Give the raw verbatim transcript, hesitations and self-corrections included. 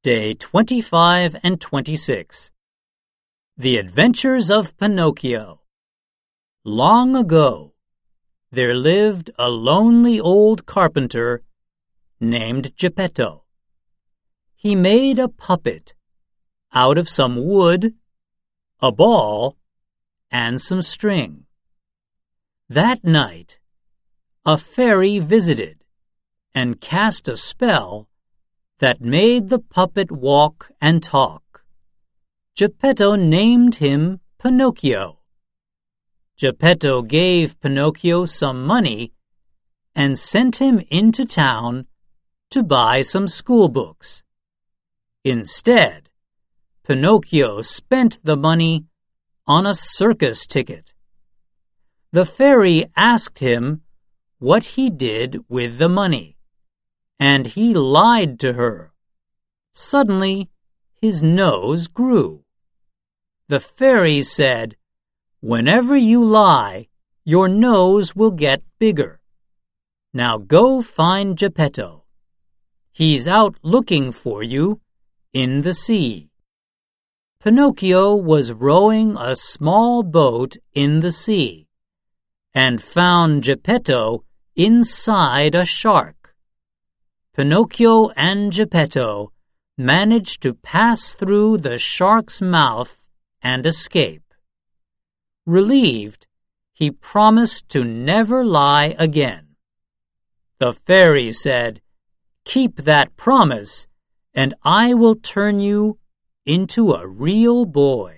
Day twenty-five and twenty-six. The Adventures of Pinocchio. Long ago, there lived a lonely old carpenter named Geppetto. He made a puppet out of some wood, a ball, and some string. That night, a fairy visited and cast a spell that made the puppet walk and talk. Geppetto named him Pinocchio. Geppetto gave Pinocchio some money and sent him into town to buy some school books. Instead, Pinocchio spent the money on a circus ticket. The fairy asked him what he did with the money, and he lied to her. Suddenly, his nose grew. The fairy said, "Whenever you lie, your nose will get bigger. Now go find Geppetto. He's out looking for you in the sea." Pinocchio was rowing a small boat in the sea and found Geppetto inside a shark. Pinocchio and Geppetto managed to pass through the shark's mouth and escape. Relieved, he promised to never lie again. The fairy said, "Keep that promise, and I will turn you into a real boy."